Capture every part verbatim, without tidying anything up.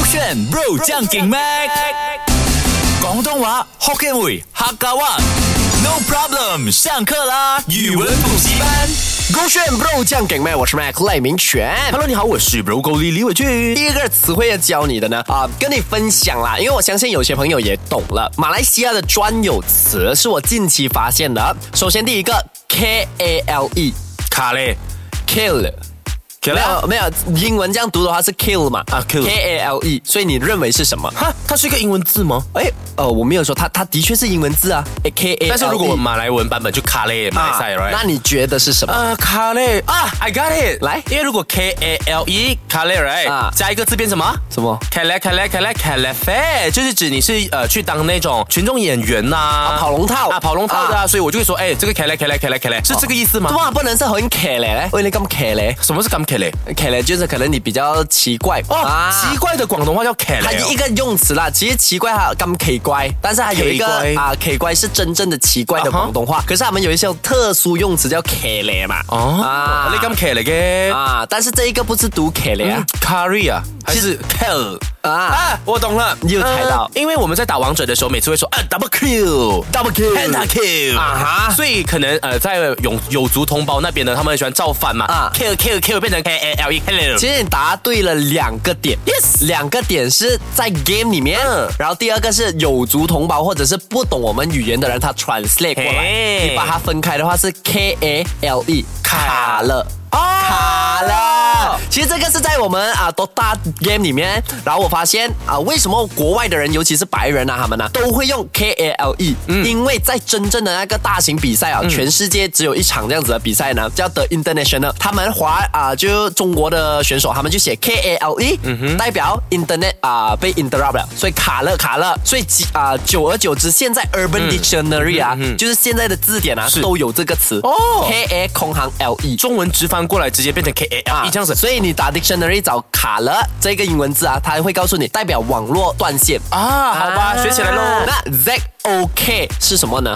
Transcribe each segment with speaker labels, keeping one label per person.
Speaker 1: 炫 Bro 將勁 Mac 廣東話 Hokkien 會客家話 No problem 上課啦語文補習班
Speaker 2: 勾选 Bro 酱梗麦，我是 Mac 赖明全。
Speaker 3: Hello， 你好，我是 Bro 狗李李伟俊。
Speaker 2: 第一个词汇要教你的呢，啊、呃，跟你分享啦，因为我相信有些朋友也懂了。马来西亚的专有词是我近期发现的。首先第一个 K A L E，
Speaker 3: 卡嘞
Speaker 2: kill。没有没有，英文这样读的话是 kill 嘛？
Speaker 3: 啊 ，kill，K
Speaker 2: A L E， 所以你认为是什么？
Speaker 3: 哈，它是一个英文字吗？
Speaker 2: 哎，呃，我没有说它，它的确是英文字啊 ，K A L E。
Speaker 3: 但是如果马来文版本就卡嘞，马来赛 ，right？
Speaker 2: 那你觉得是什么？
Speaker 3: 呃，卡嘞啊 ，I got it，
Speaker 2: 来，
Speaker 3: 因为如果 K A L E 卡嘞 ，right？啊，加一个字变什么？
Speaker 2: 什么？
Speaker 3: 卡嘞卡嘞卡嘞卡嘞飞，就是指你是呃去当那种群众演员呐、啊，
Speaker 2: 跑龙套
Speaker 3: 啊，跑龙套的啊，所以我就会说，哎，这个卡嘞卡嘞卡嘞卡嘞是这个意思吗？
Speaker 2: 哇，不能是很卡嘞，喂，你咁卡嘞？
Speaker 3: 什么是咁卡嘞？
Speaker 2: 卡嘞就是可能你比较奇怪
Speaker 3: 哦，啊、奇怪的广东话叫卡嘞、哦，
Speaker 2: 它一个用词啦。其实奇怪它咁奇怪，但是还有一个啊，奇怪是真正的奇怪的广东话。Uh-huh. 可是他们有一些特殊用词叫卡嘞嘛。
Speaker 3: 哦，啊，你咁卡嘞嘅
Speaker 2: 啊，但是这一个不是读卡嘞啊
Speaker 3: ，carry 啊，还是 kill 啊啊，我懂了，
Speaker 2: 你有猜到、
Speaker 3: 呃？因为我们在打王者的时候，每次会说啊 double kill，double
Speaker 2: kill，penta
Speaker 3: kill 啊哈，所以可能呃在有有族同胞那边呢，他们很喜欢造反嘛，啊 kill kill kill 变成 K A L E，
Speaker 2: 其实你答对了两个点 ，yes， 两个点是在 game 里面，嗯、然后第二个是有族同胞或者是不懂我们语言的人，他 translate 过来，你把它分开的话是 K A L E 卡了。哦，卡了。其实这个是在我们啊 Dota game 里面，然后我发现啊，为什么国外的人，尤其是白人啊，他们呢、啊、都会用 K A L E，、嗯、因为在真正的那个大型比赛啊、嗯，全世界只有一场这样子的比赛呢，叫 The International， 他们华啊就中国的选手，他们就写 K A L E，、嗯、代表 Internet 啊被 interrupt 了，所以卡了卡了，所以啊久而久之，现在 Urban Dictionary 啊、嗯嗯嗯，就是现在的字典啊都有这个词哦 ，K A 空行 L E，
Speaker 3: 中文直翻过来直接变成 K A L E、啊、这样子，
Speaker 2: 所以你打 dictionary 找卡了这个英文字啊，它会告诉你代表网络断线
Speaker 3: 啊。好吧，啊、学起来喽。
Speaker 2: 那 Z O K 是什么呢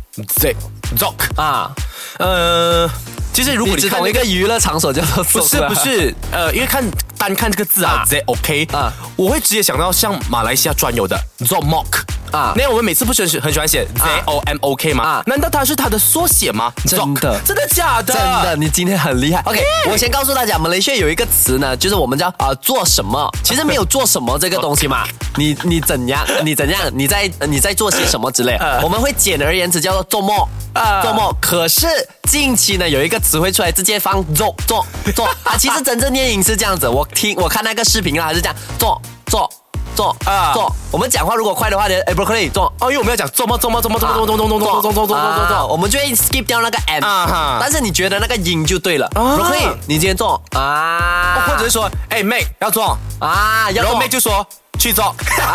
Speaker 3: ？Z Zoc
Speaker 2: 啊，
Speaker 3: 呃，其实如果你
Speaker 2: 只懂一个娱乐场所叫做
Speaker 3: Zoc， 不是不是，呃，因为看单看这个字啊 ，Z O K 啊，我会直接想到像马来西亚专有的 Zomok。啊，那我们每次不是很喜欢写 Z O M O K 吗？啊，难道它是它的缩写吗？
Speaker 2: 真的，
Speaker 3: 真的假的？
Speaker 2: 真的，你今天很厉害。OK， 我先告诉大家，马来西亚有一个词呢，就是我们叫啊、呃、做什么，其实没有做什么这个东西嘛。你你怎样？你怎样？你在你在做些什么之类？我们会简而言之叫做做梦啊，做梦。可是近期呢，有一个词汇出来，直接放做做做啊，其实真正念音是这样子。我听我看那个视频啊，还是这样做做。做啊做，我们讲话如果快的话呢，哎 ，broccoli 做
Speaker 3: 哦，因为我们要讲做么做么做么做么做么做么做么做么做么做么做，
Speaker 2: 我们就会 skip 掉那个 m 啊，但是你觉得那个音就对了 ，broccoli 你今天做啊，
Speaker 3: 或者是说，哎 ，Mac 要做
Speaker 2: 啊，
Speaker 3: 然后 Mac 就说去做，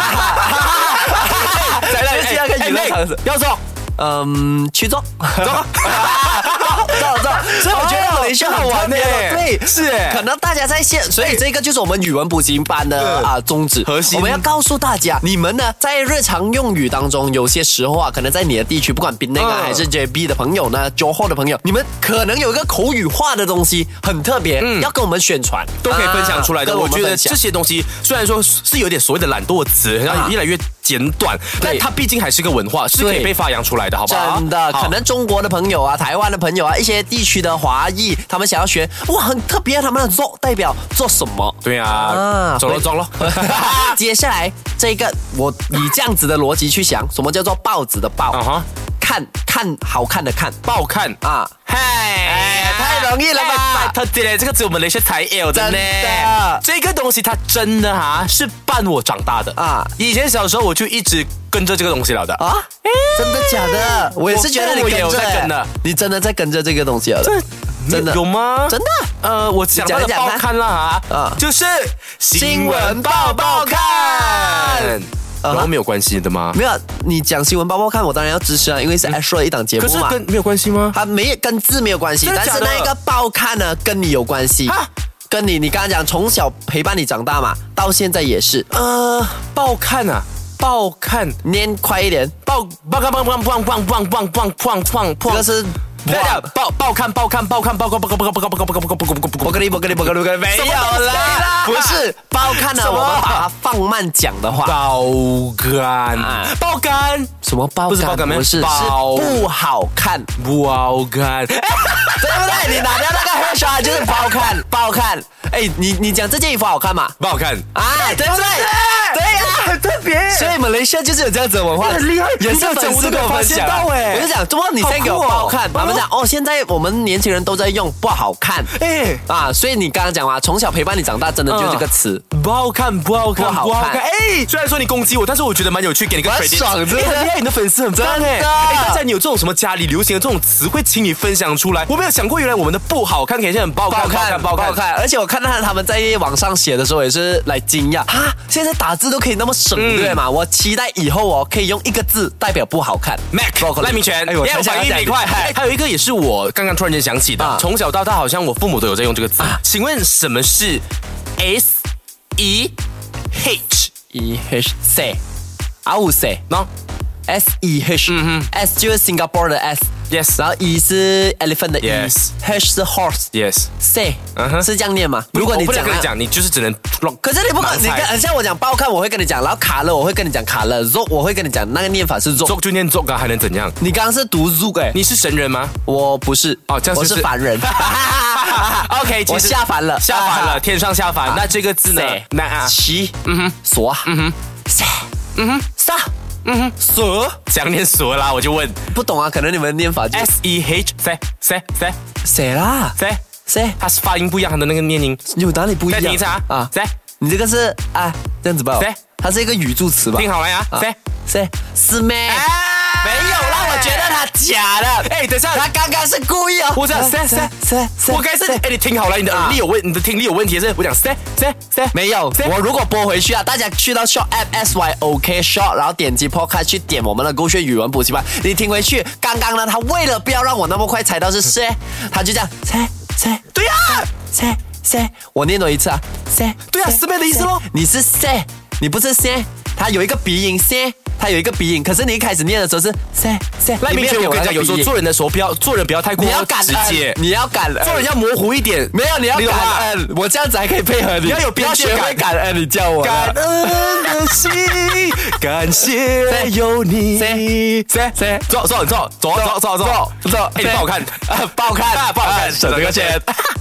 Speaker 2: 再来第二个娱乐场所
Speaker 3: 要做。
Speaker 2: 嗯，去做，做，做做，所以我觉得马来西亚好玩呢，对，
Speaker 3: 是，
Speaker 2: 可能大家在线，所以这个就是我们语文补习班的啊宗旨
Speaker 3: 核心。
Speaker 2: 我们要告诉大家，你们呢在日常用语当中，有些时候啊，可能在你的地区，不管槟榔啊还是 J B 的朋友呢 ，Johor 的朋友，你们可能有一个口语化的东西很特别，嗯，要跟我们宣传，
Speaker 3: 都可以分享出来的。我觉得这些东西虽然说是有点所谓的懒惰词，然后越来越简短，但它毕竟还是个文化，是可以被发扬出来的，好不好？
Speaker 2: 真的，可能中国的朋友啊、台湾的朋友啊、一些地区的华裔，他们想要学，哇，很特别，他们的做代表做什么？
Speaker 3: 对啊，啊走了走了。
Speaker 2: 接下来这个，我以这样子的逻辑去想，什么叫做报纸的报？啊哈，看看好看的看，
Speaker 3: 报看啊，
Speaker 2: 嗨，太容易了吧？
Speaker 3: 特别这个只有我们那些才有的呢。这个东西它真的哈是伴我长大的啊。以前小时候我就一直跟着这个东西了的啊。
Speaker 2: 真的假的？我也是觉得你跟着，跟的，你真的在跟着这个东西了。真的
Speaker 3: 有吗？
Speaker 2: 真的？
Speaker 3: 呃，我想到的报刊啦啊，就是新闻报报看。然后没有关系的吗？
Speaker 2: 没有，你讲新闻报报看，我当然要支持啊，因为是 Astro 的一档节目嘛。
Speaker 3: 可是跟没有关系吗？
Speaker 2: 它没跟字没有关系，但是那个报看呢，跟你有关系。跟你，你刚刚讲从小陪伴你长大嘛，到现在也是。
Speaker 3: 呃，报看啊。报看，
Speaker 2: 念快一点，
Speaker 3: 报报看报看报看报看报看报看报看，
Speaker 2: 这个是
Speaker 3: 报报看报看报看报看报看报看报看报看报看报看报看报看
Speaker 2: 不可以不可以不可以不可以没有啦，不是报看呢，我们把把它放慢讲的话，
Speaker 3: 爆肝，爆肝，
Speaker 2: 什么爆肝？
Speaker 3: 不是爆肝，
Speaker 2: 不是，是不好看，
Speaker 3: 不好看，对
Speaker 2: 不对？你拿掉那个 hairshot 就是不好看，不好看。哎，你你讲这件衣服好看吗？
Speaker 3: 不好看
Speaker 2: 啊，对不对？对呀，
Speaker 3: 很特别。
Speaker 2: 所以马来西亚就是有这样子的文化，
Speaker 3: 很厉害，
Speaker 2: 也是粉丝跟我分享。我就讲，怎么你先给我不好看？他们讲哦，现在我们年轻人都在用不好看，哎啊，所以你刚刚讲嘛，从小陪伴你长大，真的就这个词，
Speaker 3: 不好看，不好看，不好看。哎，虽然说你攻击我，但是我觉得蛮有趣，给你个 credit，
Speaker 2: 爽，真的，
Speaker 3: 很厉害，你的粉丝很棒哎。哎，大家你有这种什么家里流行的这种词汇，请你分享出来。我没有想过，原来我们的不好看，可以很不好看，
Speaker 2: 不好看，不好看。而且我看到他们在网上写的时候，也是来惊讶啊，现在打字都可以那么省，对吗？我期待以后哦，可以用一个字代表不好看。
Speaker 3: Mac 赖明权，哎呦，反应没快。还有一个也是我刚刚突然间想起的，从小到大好像我父母都有在用这个字。请问什么是 S E H
Speaker 2: E H say？ I will say
Speaker 3: no
Speaker 2: S E H， 嗯哼 S 就是 Singapore 的 S。Yes， 然后 E 是 elephant 的 E，H 是 horse。Yes，say， 是这样念吗？如果你
Speaker 3: 不能跟你讲，你就是只能。
Speaker 2: 可是你不管，你看，像我讲不好看，我会跟你讲，然后卡了，我会跟你讲卡了 ，zog 我会跟你讲那个念法是
Speaker 3: zog，zog 就念 zog 啊，还能怎样？
Speaker 2: 你刚刚是读 zog 哎，
Speaker 3: 你是神人吗？
Speaker 2: 我不是，
Speaker 3: 哦，这样
Speaker 2: 我是凡人。
Speaker 3: OK，
Speaker 2: 我下凡了，
Speaker 3: 下凡了，天上下凡。那这个字呢？
Speaker 2: 那啊，七，嗯哼，索，嗯哼，塞，嗯哼，撒。嗯哼，蛇
Speaker 3: 想念蛇啦，我就问，
Speaker 2: 不懂啊，可能你们念法就
Speaker 3: S E H 塞塞塞
Speaker 2: 塞啦
Speaker 3: 塞
Speaker 2: 塞，
Speaker 3: 它是发音不一样，它的那个念音
Speaker 2: 有哪里不一样？
Speaker 3: 再听一次啊
Speaker 2: 啊！塞，你这个是啊这样子吧？
Speaker 3: 塞，
Speaker 2: 它是一个语助词吧？
Speaker 3: 听好了呀，塞
Speaker 2: 塞是咩？没有啦，我觉得他假的。
Speaker 3: 哎，等下，
Speaker 2: 他刚刚是故意哦。
Speaker 3: 我讲塞塞塞塞，我该是哎，你听好了，你的耳力有问，你的听力有问题是？我讲塞塞塞，
Speaker 2: 没有。我如果播回去啊，大家去到 Short App S Y O K Short， 然后点击 Podcast 去点我们的勾选语文补习班，你听回去。刚刚呢，他为了不要让我那么快猜到是塞，他就这样塞塞，
Speaker 3: 对呀，
Speaker 2: 塞塞，我念多一次啊，塞，
Speaker 3: 对啊，是咩的意思咯？
Speaker 2: 你是塞，你不是塞，他有一个鼻音塞。它有一个鼻音，可是你一开始念的时候是塞塞。
Speaker 3: 赖明权，我跟你讲，有时候做人的时候不要做人不要太过直接，
Speaker 2: 你要感恩，
Speaker 3: 做人要模糊一点。
Speaker 2: 没有，你要感恩，我这样子还可以配合你。
Speaker 3: 你要有边界感，
Speaker 2: 感恩你叫我
Speaker 3: 感恩的心，感谢有你。塞塞，走走走走走走走走，哎，不好看，
Speaker 2: 不好看，
Speaker 3: 不好看，省这个钱。